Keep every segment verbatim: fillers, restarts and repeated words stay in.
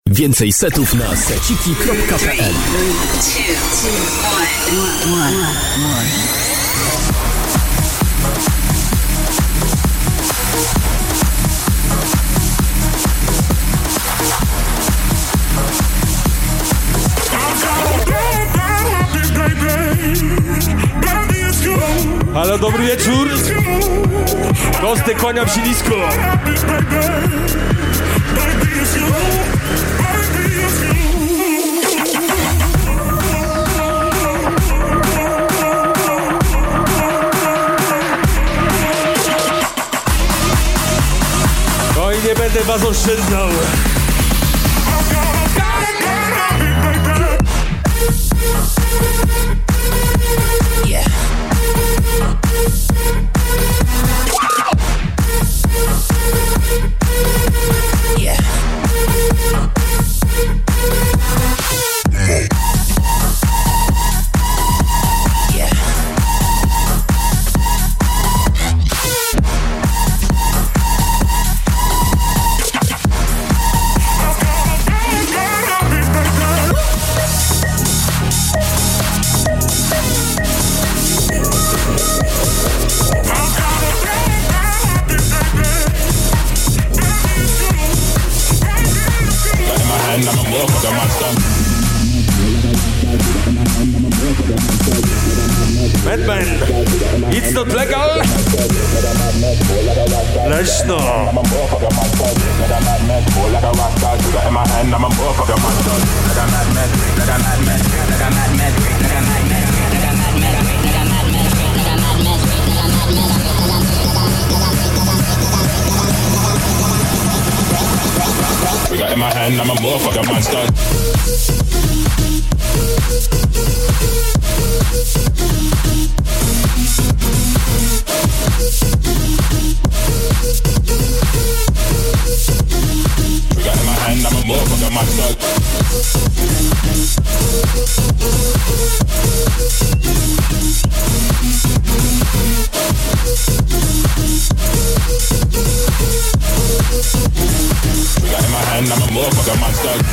Więcej setów na seciki kropka p l. Halo, dobry wieczór. Kostek, kłaniam się nisko. No i nie będę was oszczędzał. Batman, it's not legal. Leszno. We got in my hand, I'm a motherfucker monster. We got in my hand, I'm a motherfucker monster. We got in my hand, I'm a motherfucker monster.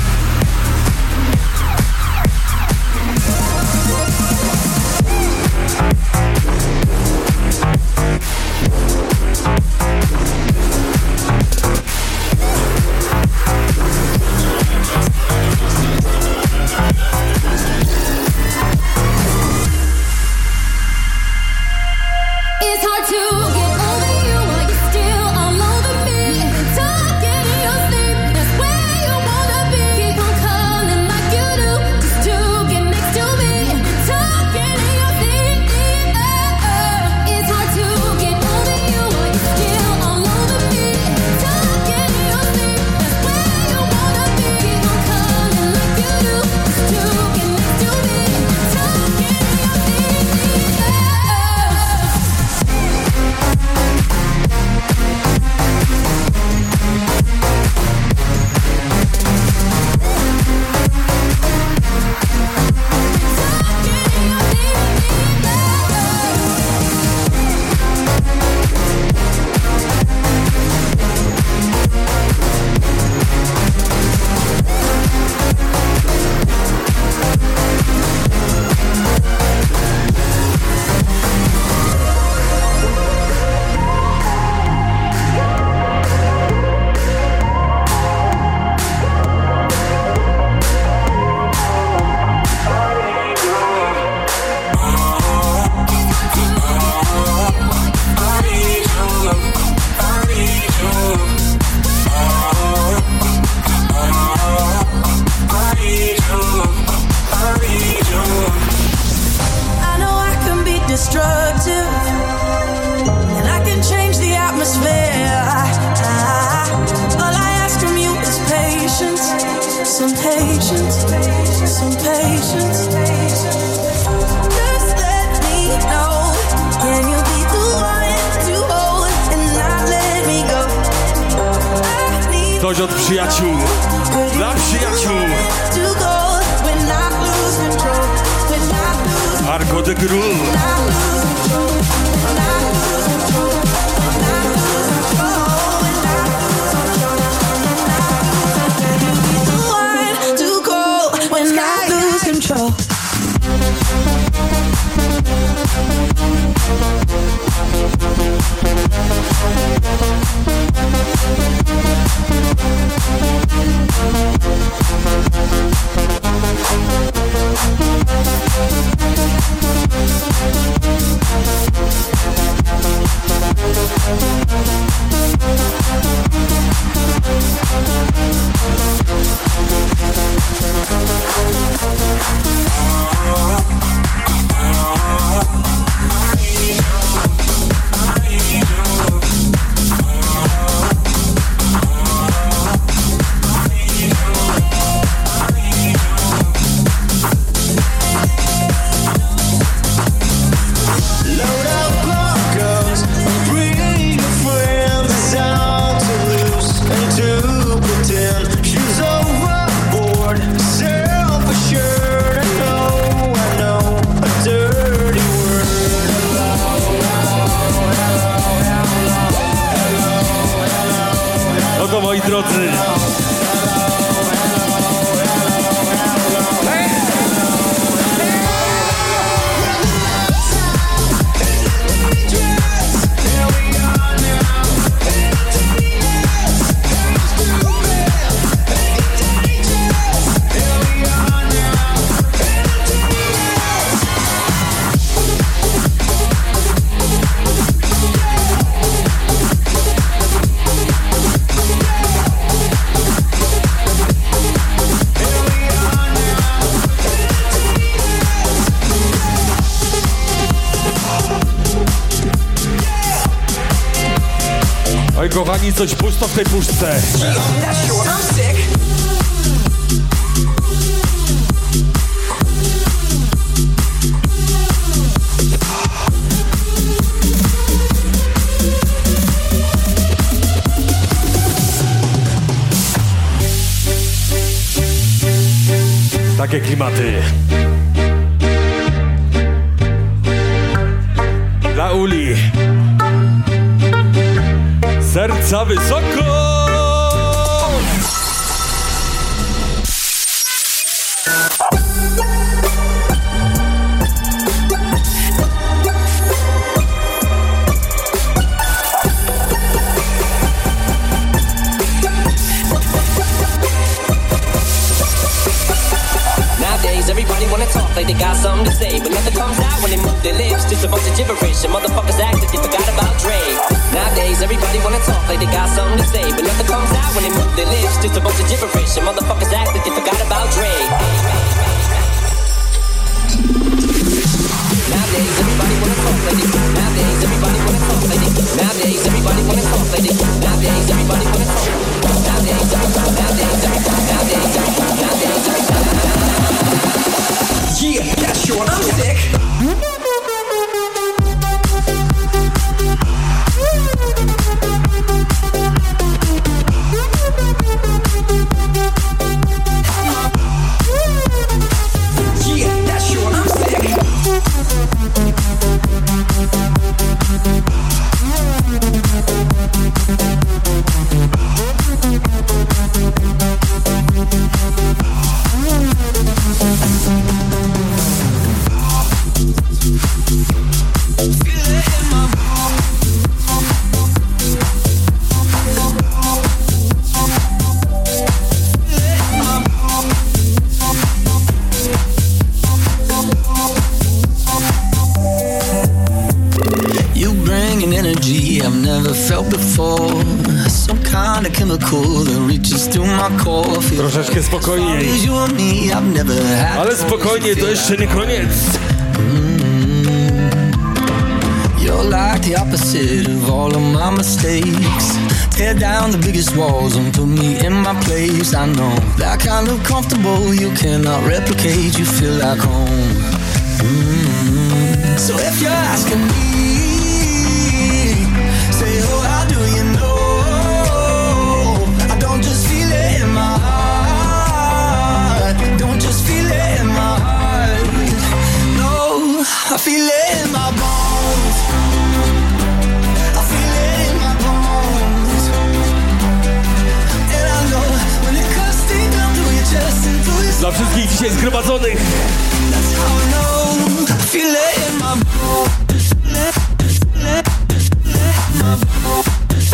Coś od przyjaciół, dla przyjaciół. Arco de Groove. drodzy. Oj, kochani, coś pusto w tej puszce. Takie klimaty. Dla Uli. Serca wysoko! Nowadays, everybody wanna talk like they got something to say, but nothing comes out when they move their lips. Just a bunch of gibberish, and motherfuckers act like they forgot about Dre. Nowadays, everybody wanna talk like they got something to say, but nothing comes out when they move their lips. Just a bunch of gibberish, and motherfuckers act like they forgot about Dre. Nowadays, everybody wanna talk like they. Nowadays, everybody wanna talk like they. Nowadays, everybody wanna talk like they. Nowadays, everybody wanna talk. Nowadays, everybody. Nowadays, everybody. Nowadays, everybody. Nowadays, everybody. Yeah, yeah, sure, I'm sick. Troszeczkę spokojniej. Ale spokojnie, to jeszcze nie koniec. You're like the opposite of all of my mistakes. Tear down the biggest walls and put me in my place. I know that kind of comfortable you cannot replicate. You feel like home. Mm-hmm. So if you're asking me, say, oh, how do you know? I don't just feel it in my heart. Don't just feel it in my heart. No, I feel it in my bones. I feel it in my bones. And I know when it cuts deep down through your chest and through your. Dla wszystkich dzisiaj zgromadzonych. That's how I know. I feel it in my bones. My bones.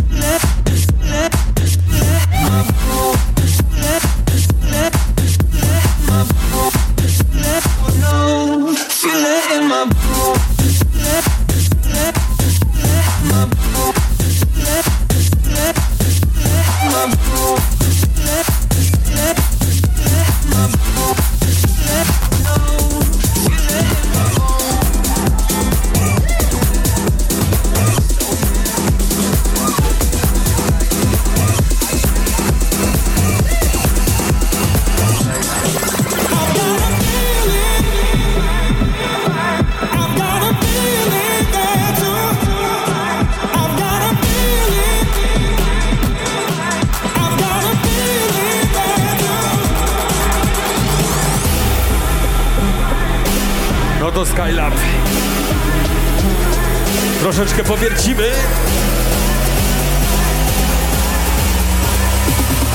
To Skylab. Troszeczkę powiercimy.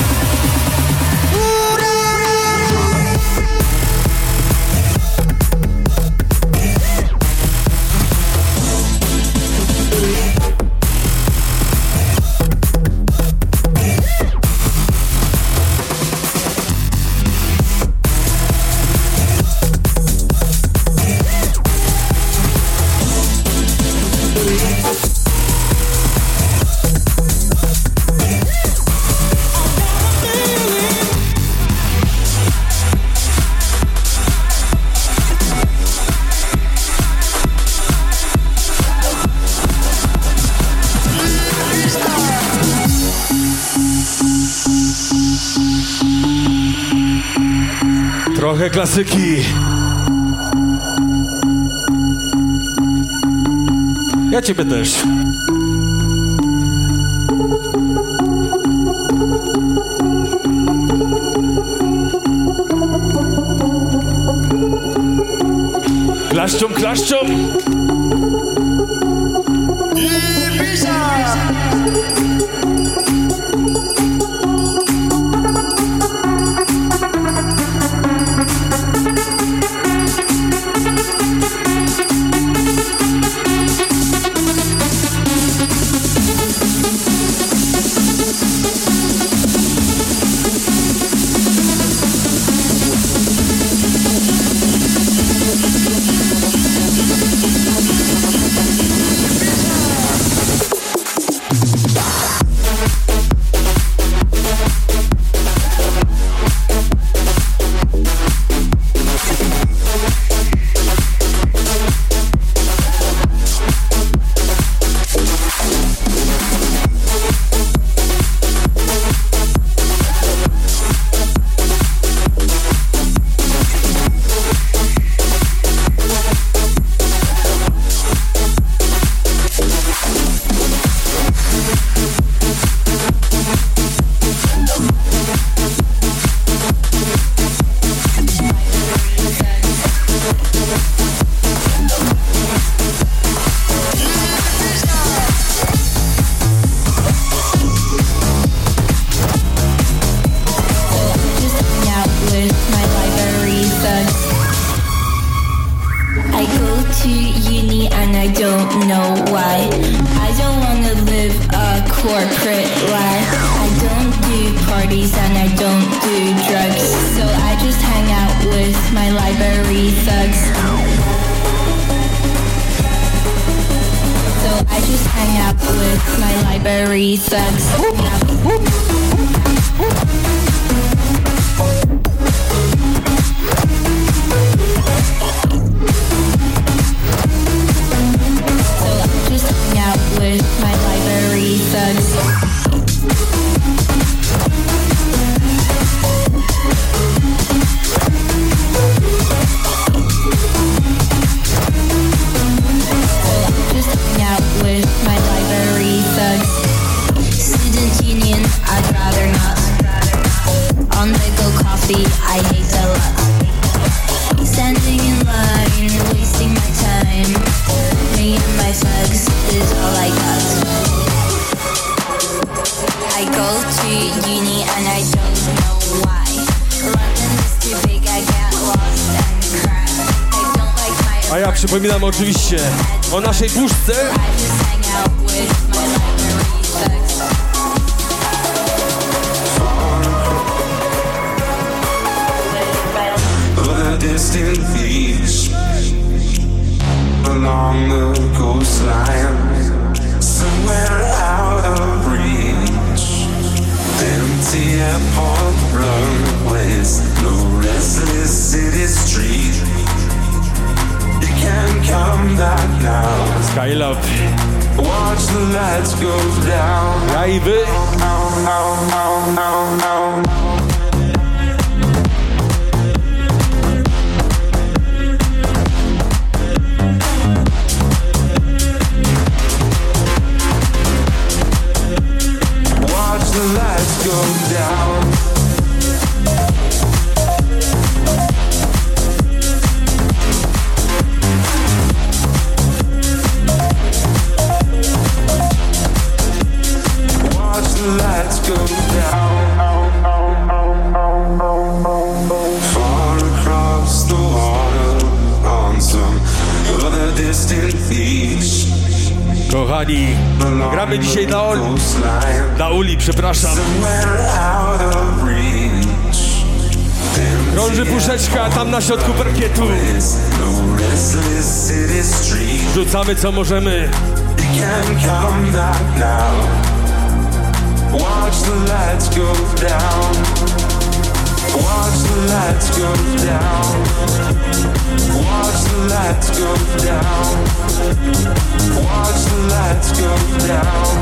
Trochę klasyki. Ja ciebie też. Klaszczą, klaszczą. A ja przypominam oczywiście o naszej puszce. Distant beach along the coastline, somewhere out of reach. Empty airport runways, no restless city street. You can't come back now. Skylab. Watch the lights go down. Ja i wy. Now, now, now, now, now. The lights go down. Watch the lights go down. Far across the water on some other distant beach. Kochani, gramy dzisiaj dla Uli, dla Uli, przepraszam. Krąży puszeczka tam na środku parkietu. Rzucamy co możemy. Watch the lights go down. Watch the lights go down. Watch the lights go down. Watch the lights go down.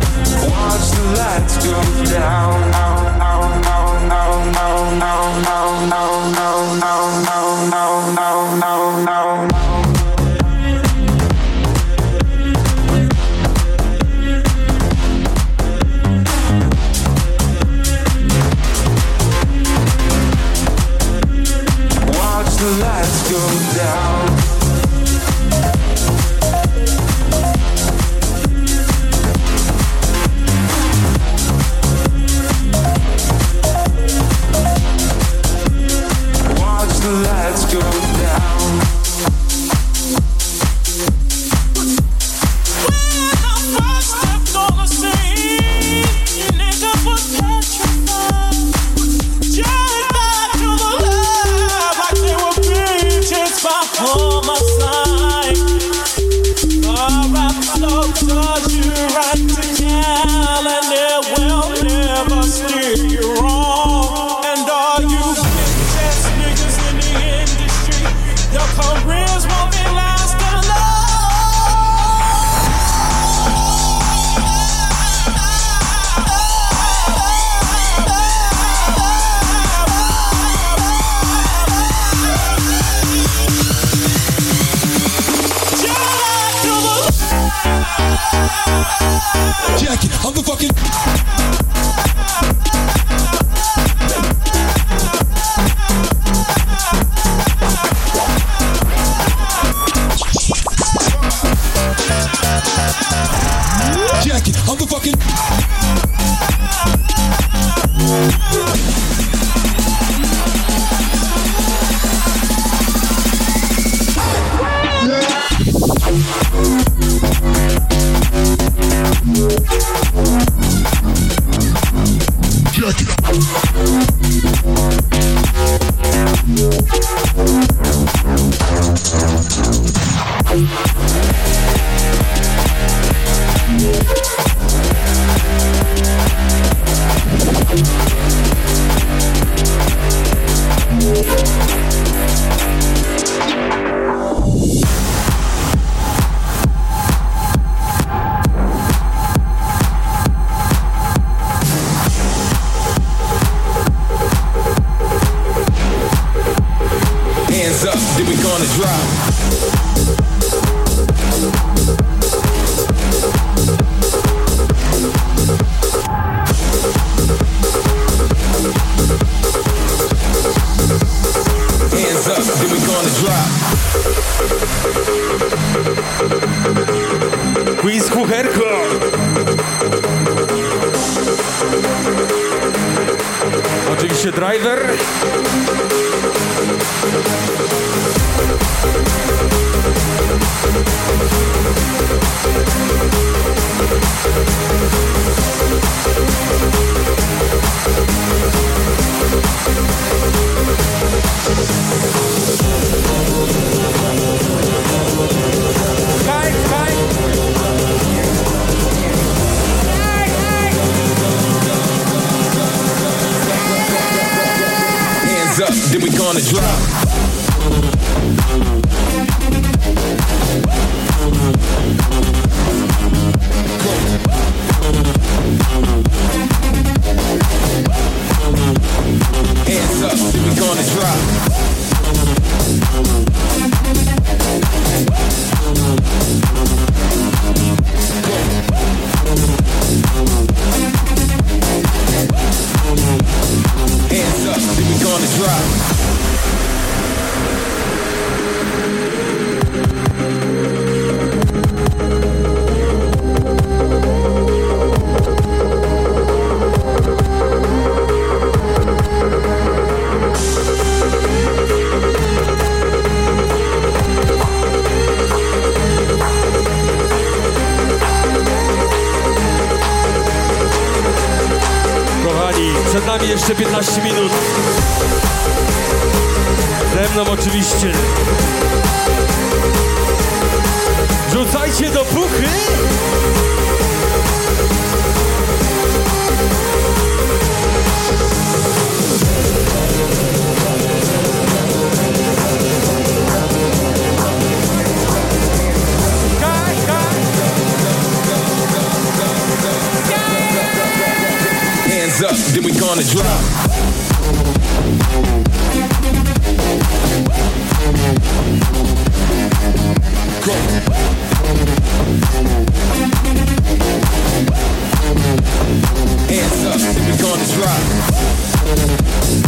Watch the lights go down. Now, now, now, now, now, now, now. Jackie, I'm the fucking Jackie, I'm the fucking Quiz kucherko. Oczywiście driver. Kaj, kaj. Hands up, then we gonna drop. Hands up, then we gonna drop. Hands up, then we gonna drop. Przed nami jeszcze piętnaście minut. Ze mną oczywiście. Rzucajcie do puchy! Hands up, then we gonna drop.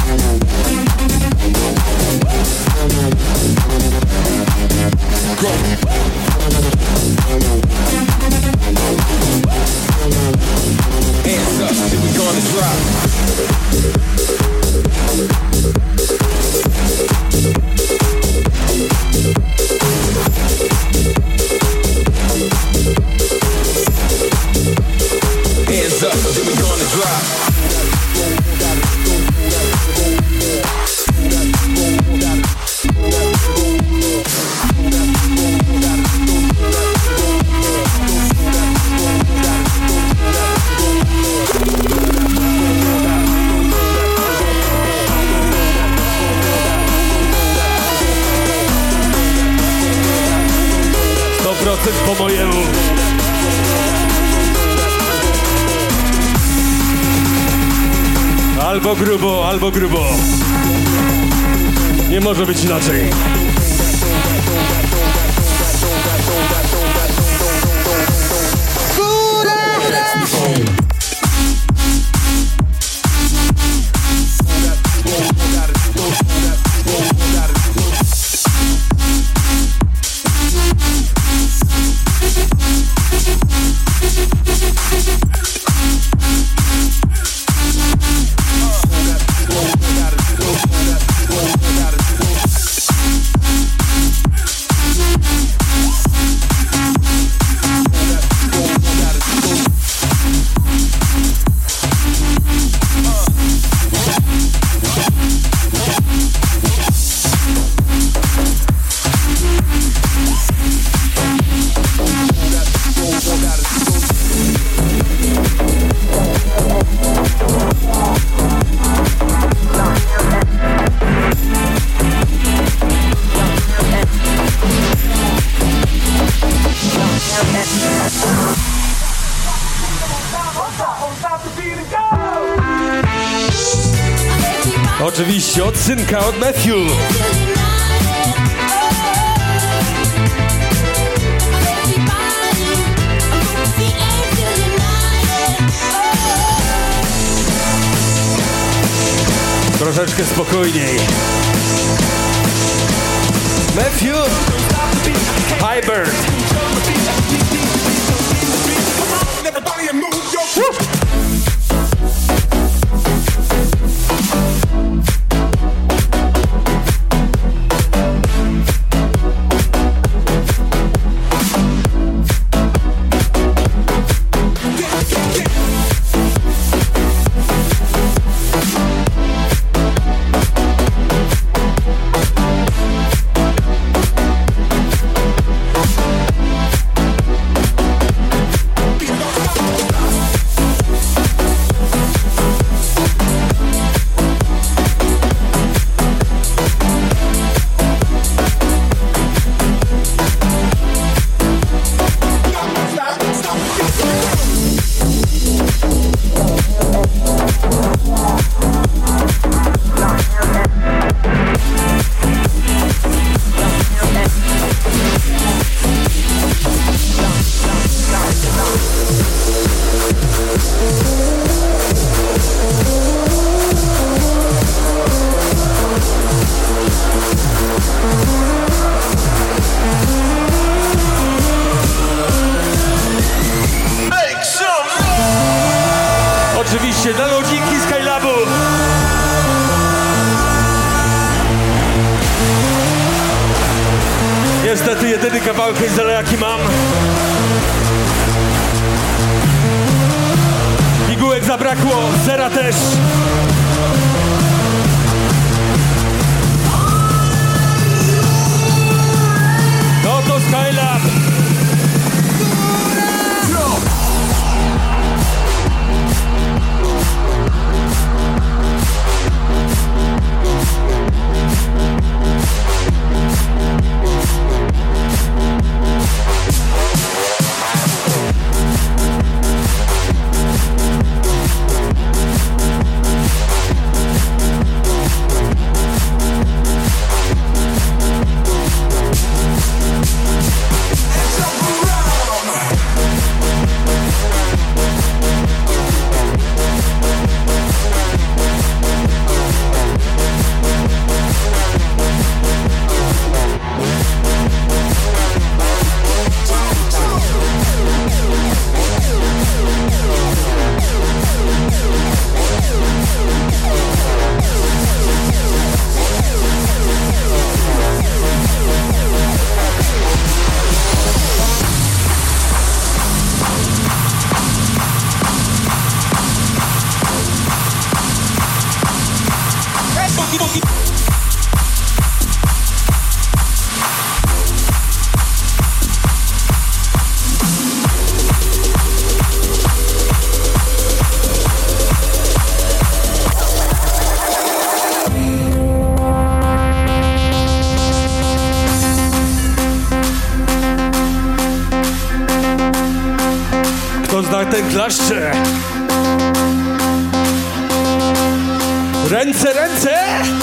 Hands up, then we gonna drop. Hands up, then we gonna drop. sto procent po mojemu. Albo grubo, albo grubo. Nie może być inaczej. Oczywiście od synka, od Matthew. Troszeczkę spokojniej. Matthew, Hybrid. Oczywiście dla lodziki Skylabu. Niestety jedyny kawałek Hazela jaki mam. Pigułek zabrakło, zera też. No to Skylab. motherfucking. Kto zna ten klaszcze? Ręce, ręce!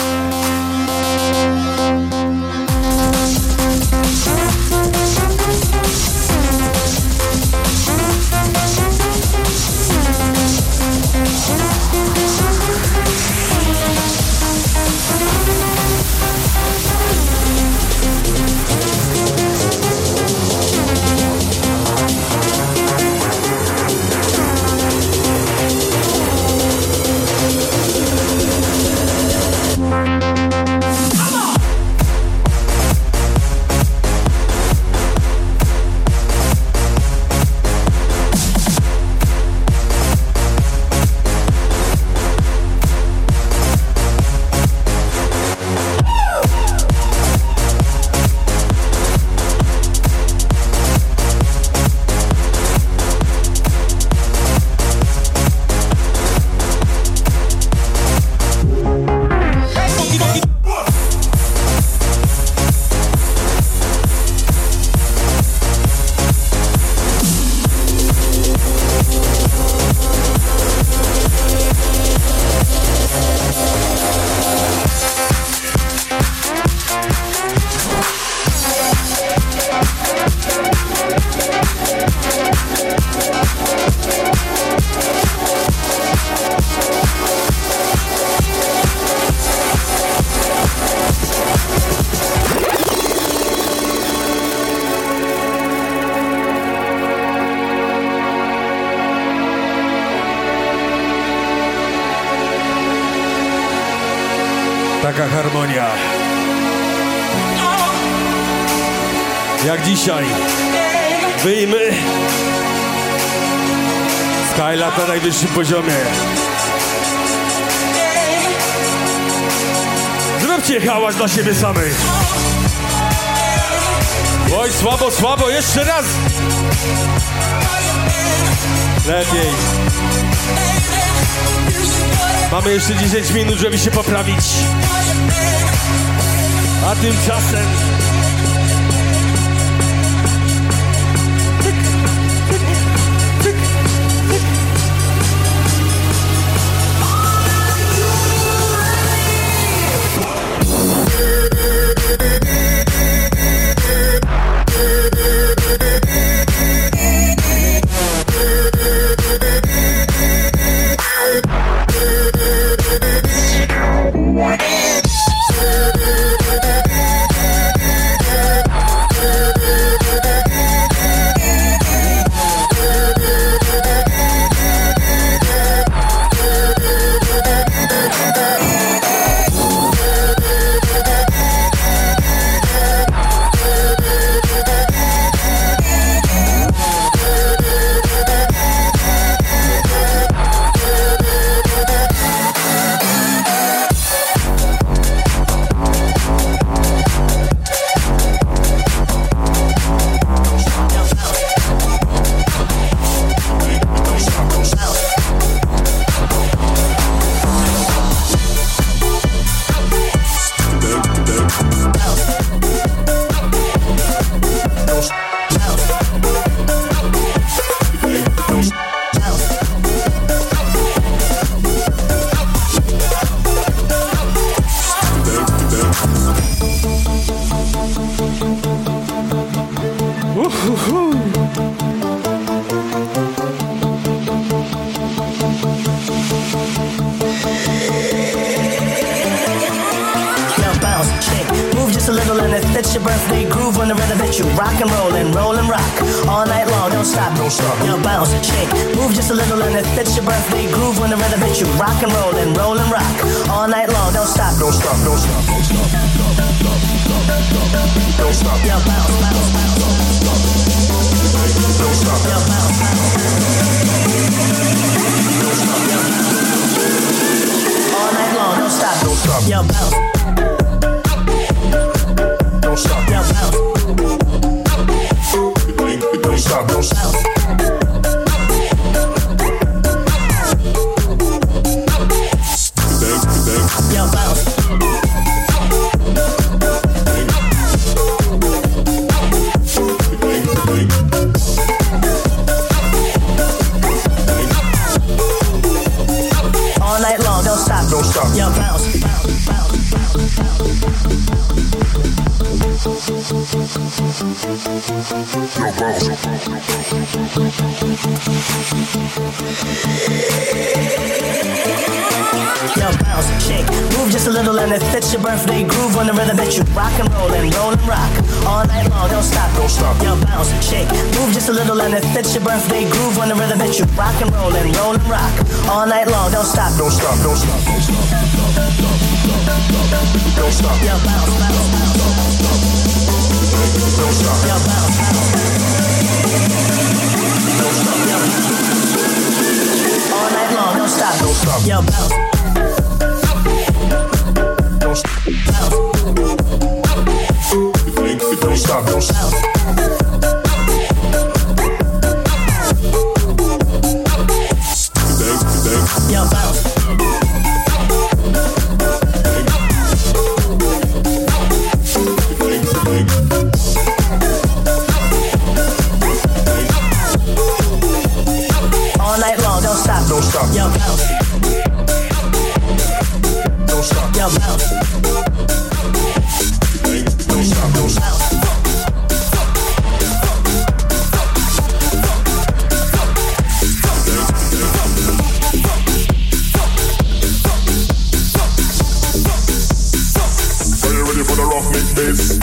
Taka harmonia. Jak dzisiaj. Wyjmy. Skylab na najwyższym poziomie. Zróbcie hałas dla siebie samych. Oj, słabo, słabo, jeszcze raz. Lepiej. Mamy jeszcze dziesięć minut, żeby się poprawić. A tymczasem... Don't stop. Yo, bounce. Don't stop. Yo, bounce. Don't stop. Don't stop. Yo, bounce. All night long, don't stop. Don't stop. Yo, bounce. Yo, bounce. Yo, bounce, shake, move just a little and it fits your birthday groove on the rhythm that you rock and roll and roll and rock. All night long, don't stop. Don't stop. Yo, bounce, shake, move just a little and it fits your birthday groove on the rhythm that you rock and roll and roll and rock. All night long, don't stop. Don't stop. Don't stop. Don't stop. Don't stop. Yo, bounce, bounce, bounce. Don't stop. Yo, bounce, bounce. Don't stop. Yo, all night long, don't stop. Don't stop. Yo, bounce. Don't stop. Bounce. Don't stop. Don't stop. Yo, bounce. All night long, don't stop. Don't stop. Yo, bounce. Don't stop. Yo, bounce. Don't stop. Don't stop. Are you ready for the rough mix bass?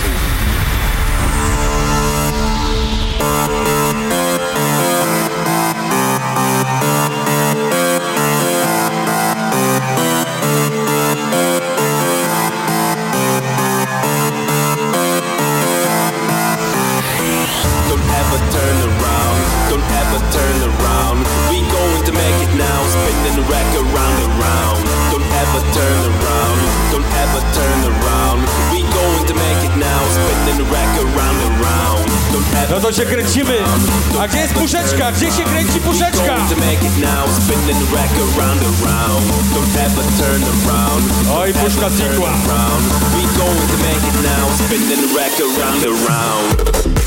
Don't ever turn around, don't ever turn around. We going to make it now, spinning the record round and round. Don't ever turn around, don't ever turn around. We going to make it now, spinning the record round and round. Don't ever No to się kręcimy. A gdzie jest puszeczka? Gdzie się kręci puszeczka? going to make it now, spinning the record round and round. Don't ever turn around. Oj, puszka znikła. Round. We going to make it now, spinning the record round and round.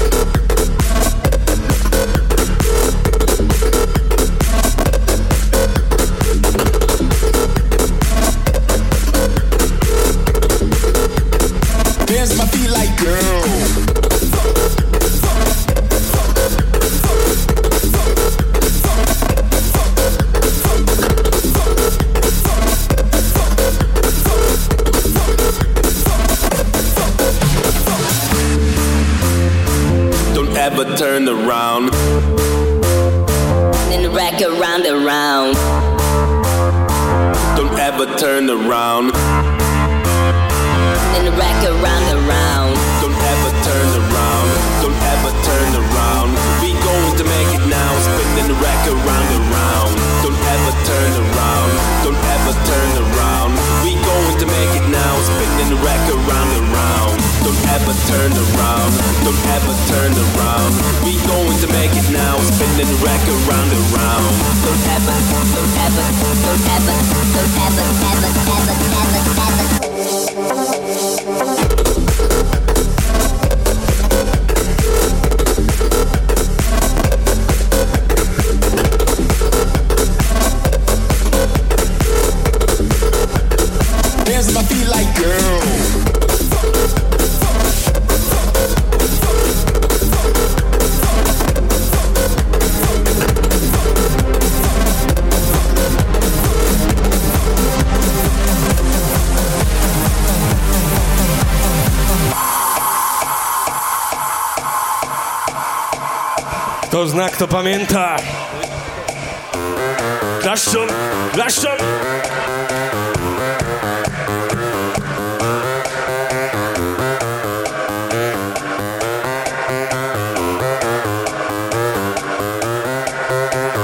Dance my feet like girl. Don't ever turn around. In the record round and round. Don't ever turn around. In the record round and round. Don't ever turn around. Don't ever turn around. We going to make it now, spinning the record round and round. Don't ever turn around. Don't ever turn around. We going to make it now, spinning the record round and round. Don't ever turn around. Don't ever turn around. We going to make it now, spinning the record round and round. Don't ever, don't ever, don't ever, don't ever, ever, ever, ever, ever. Dance my feet like girl. To znak, to pamięta. Klaszczą, klaszczą.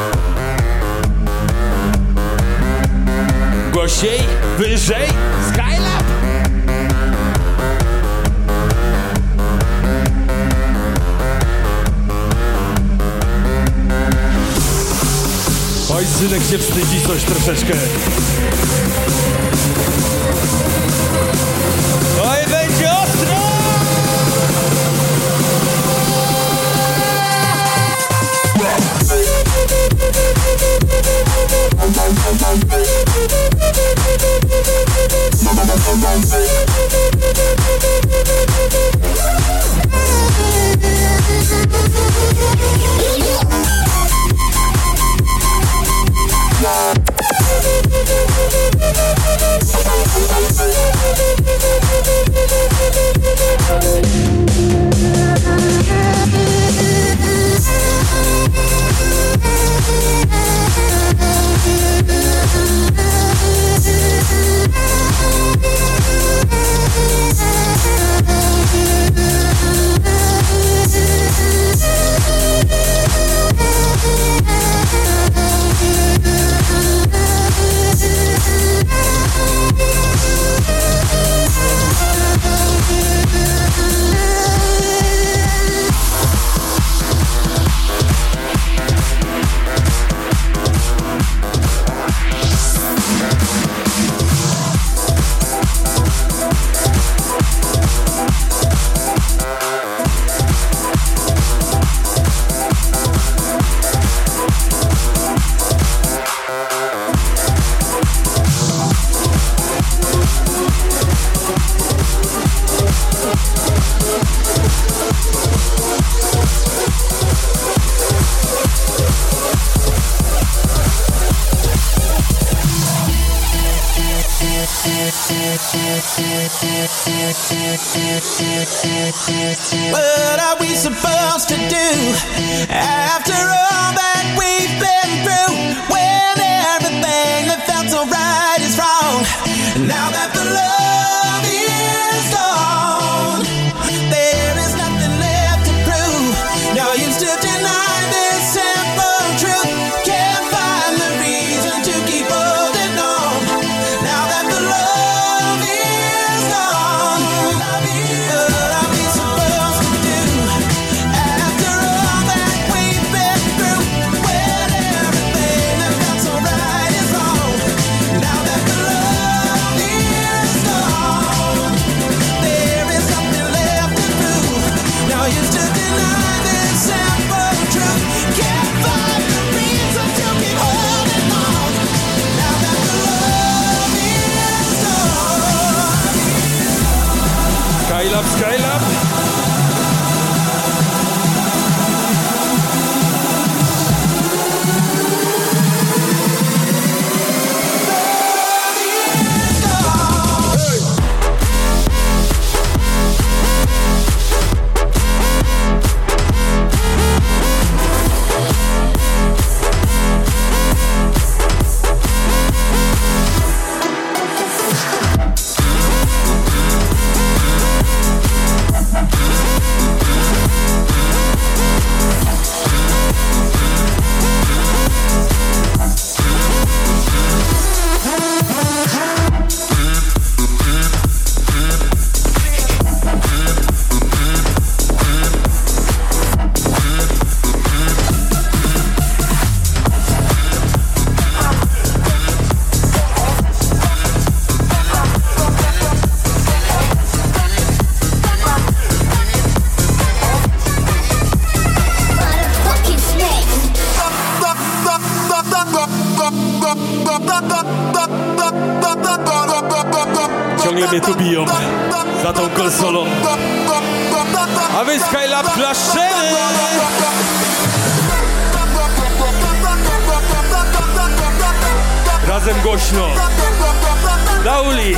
Głośniej, wyżej, sky. Murzynek się wstydzi coś troszeczkę. No i będzie ostro! What are we supposed to do after all that we've been through? When everything that felt so right is wrong. Now that the love is gone, there is nothing left to prove. No use to deny this simple truth. Can't find the reason to keep holding on. Now that the love is gone, what are we supposed to do after all that we've been through? When everything that felt so right is wrong. Now that the love is gone, there is nothing left to prove. No use to deny this simple truth. Can't find the reason to keep holding on. Now that the love is gone. Skylab, Skylab. Ciągle mnie tu biją za tą konsolą. A wy Skylab klaszczemy! Razem głośno. Lauli!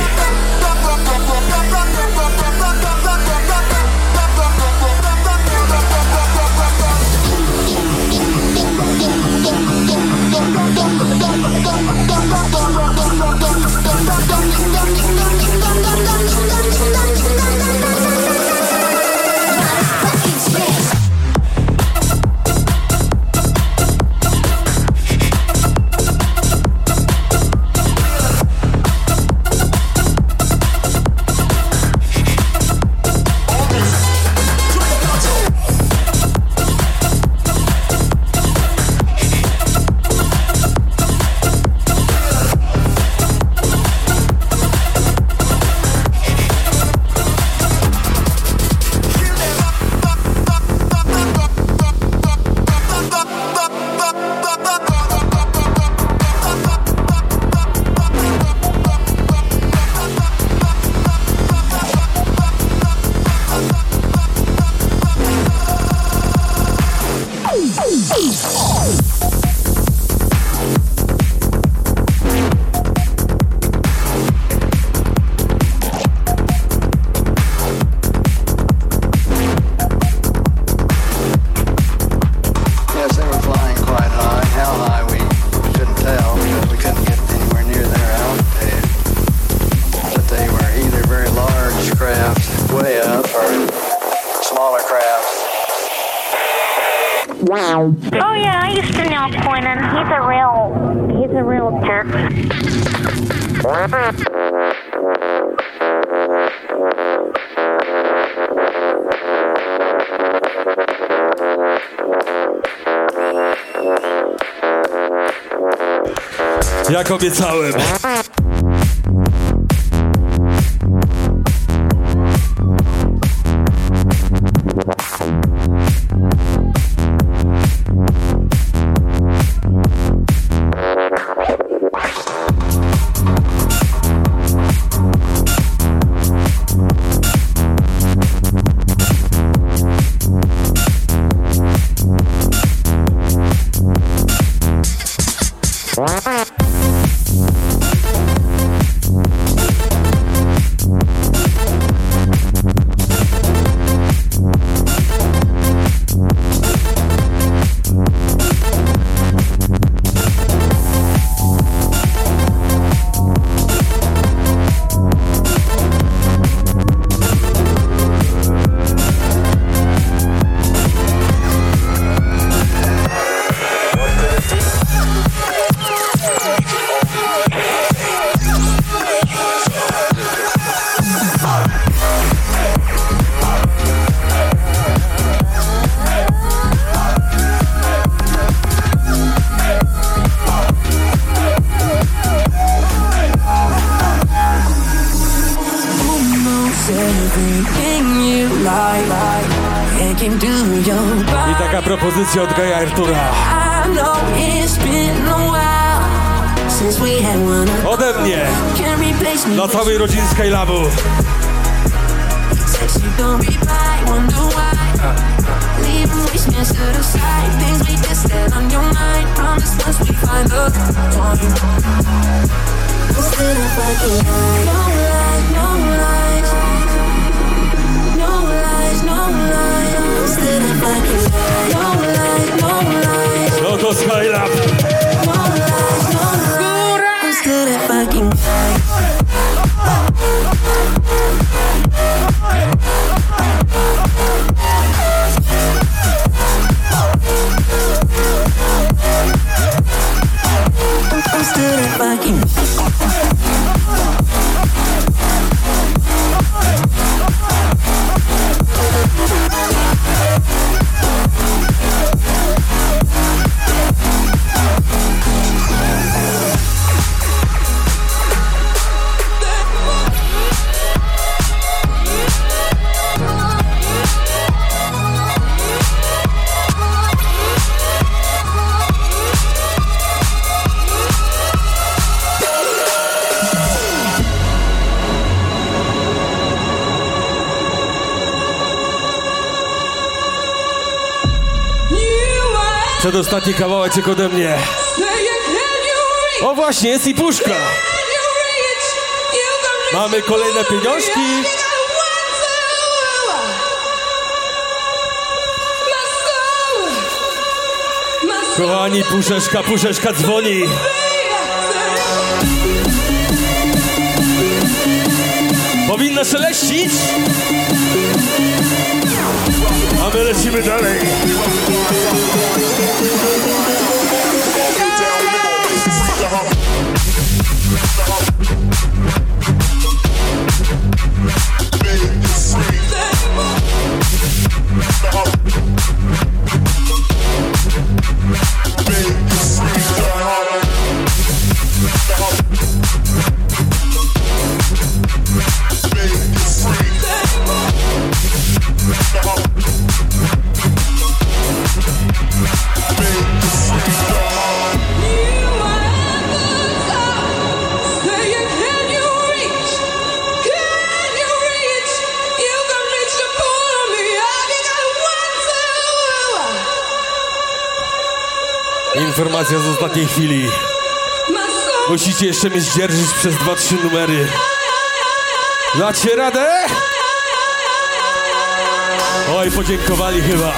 Oh yeah, I used to know Quentin. He's a real, he's a real jerk. Jak obiecałem. I taka propozycja od Gaja Artura. Ode mnie dla całej rodziny Skylabu. No to Skylab. Przedostatni kawałeczek ode mnie. O właśnie, jest i puszka. Mamy kolejne pieniążki. Kochani, puszeczka, puszeczka dzwoni. Powinna szeleścić. A my lecimy dalej. Informacja z ostatniej chwili. Musicie jeszcze mnie zdzierżyć przez dwa trzy numery. Dacie radę? Oj, podziękowali chyba.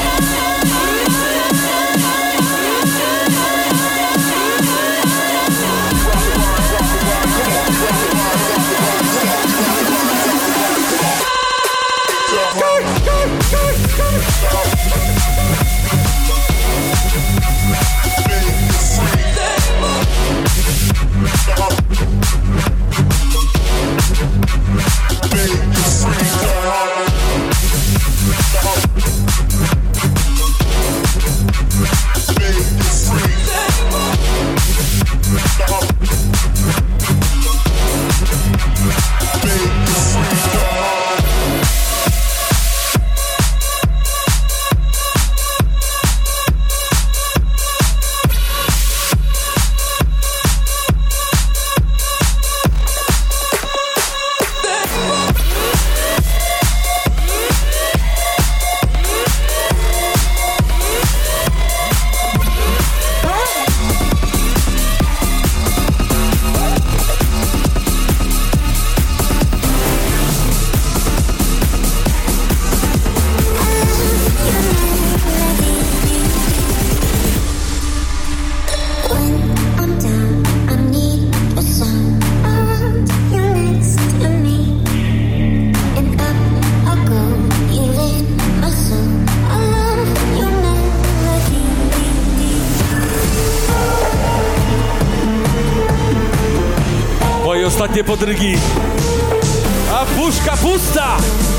Ostatnie podrygi. A puszka pusta!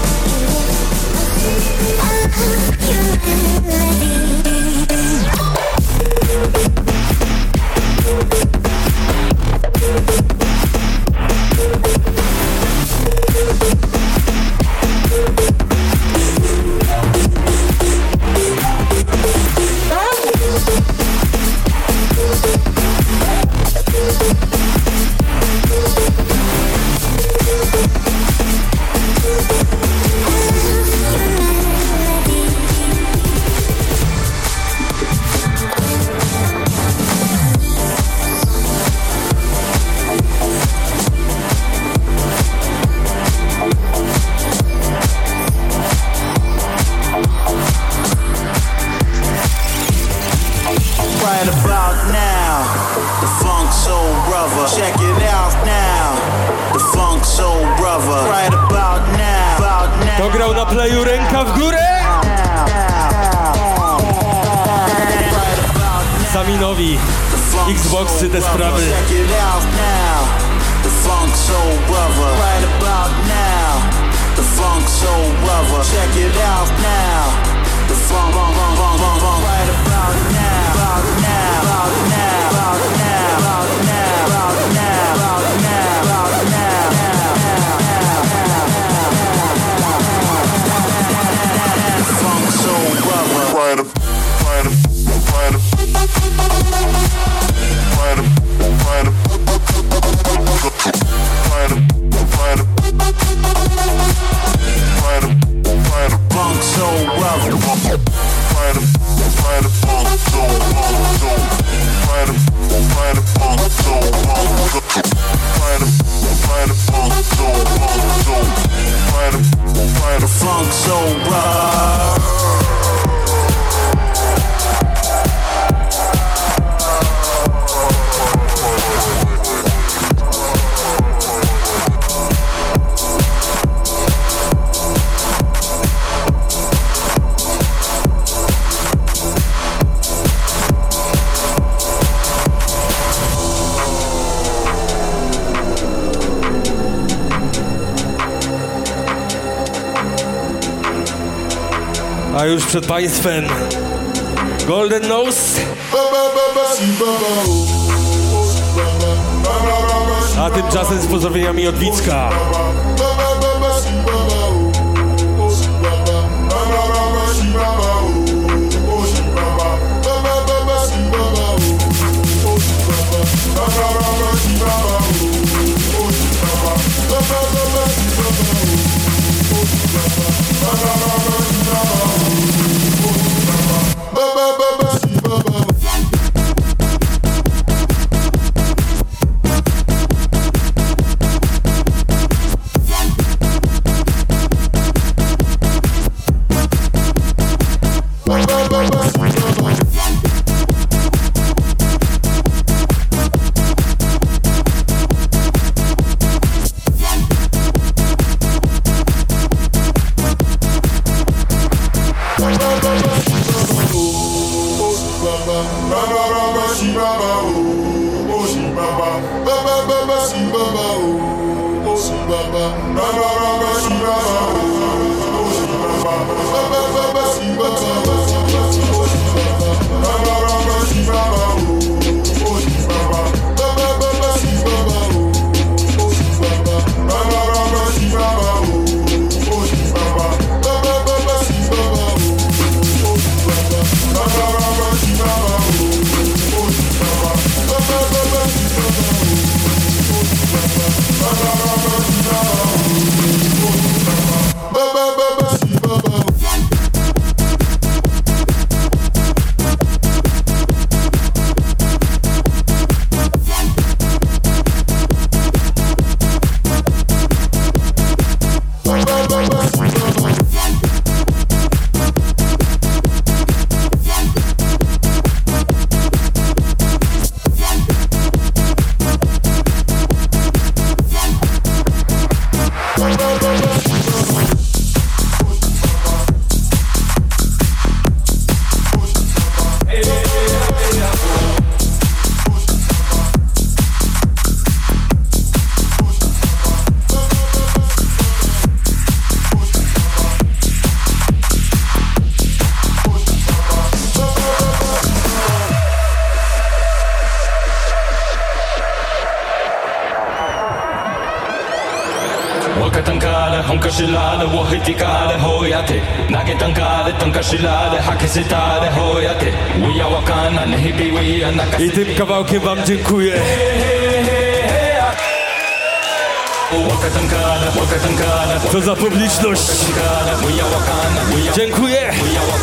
Kto grał na playu, ręka w górę? Saminowi, Xboxy, te sprawy. A już przed państwem Golden Nose. A tymczasem z pozdrowieniami od Wicka. 本かしらでを引きかでほやて投げたんかでとんかしらで吐きせたでほやて We are wakana ne hibi we are nakase. I tym kawałkiem wam dziękuję. Co za publiczność. Dziękuję.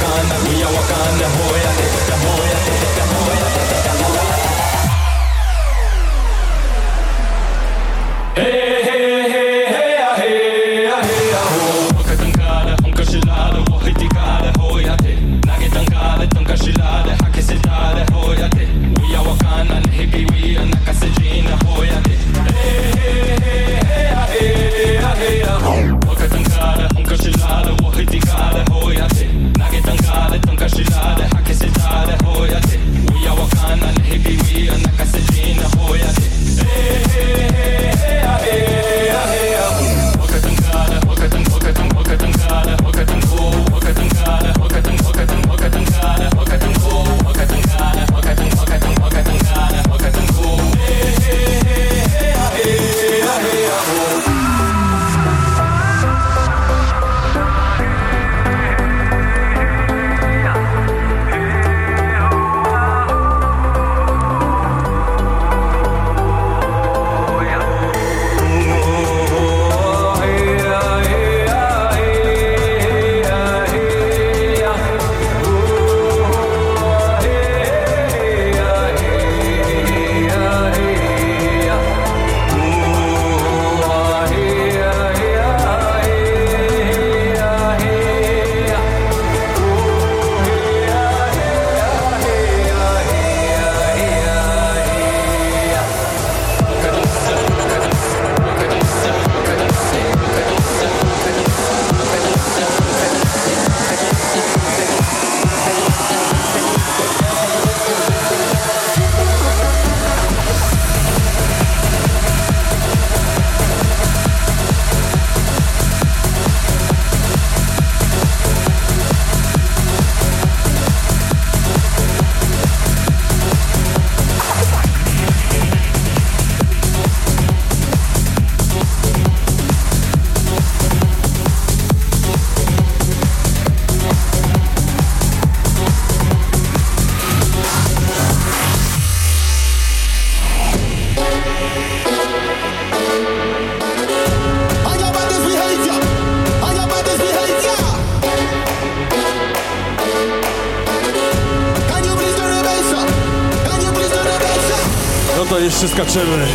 To jeszcze skaczemy.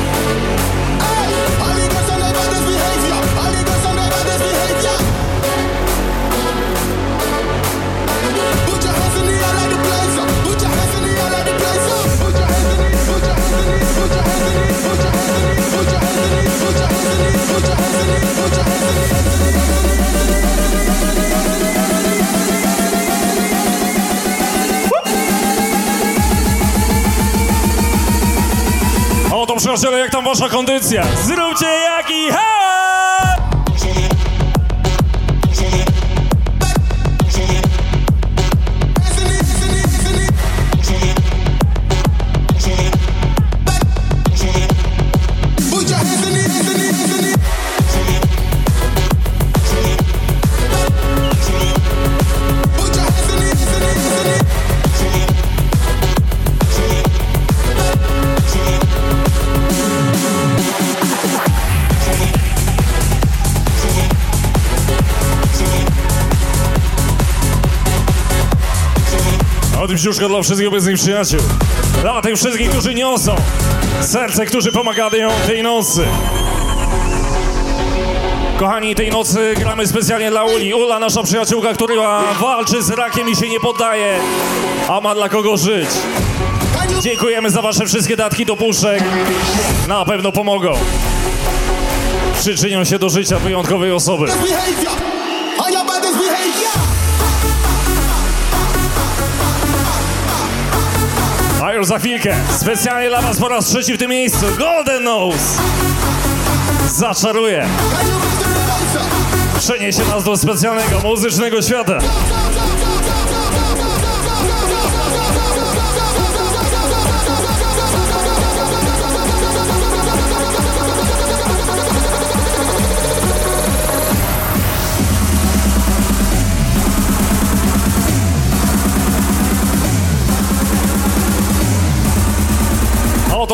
O to przyjaciele, jak tam wasza kondycja? Zróbcie jaki ha! O tym brzuszka dla wszystkich obecnych przyjaciół. Dla tych wszystkich, którzy niosą serce, którzy pomagają tej nocy. Kochani, tej nocy gramy specjalnie dla Uli. Ula, nasza przyjaciółka, która walczy z rakiem i się nie poddaje, a ma dla kogo żyć. Dziękujemy za wasze wszystkie datki do puszek. Na pewno pomogą. Przyczynią się do życia wyjątkowej osoby. A już za chwilkę, specjalnie dla was po raz trzeci w tym miejscu, Golden Nose zaczaruje. Przeniesie nas do specjalnego muzycznego świata.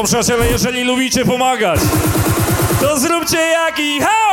to przyjaciele, jeżeli lubicie pomagać, to zróbcie jaki hał!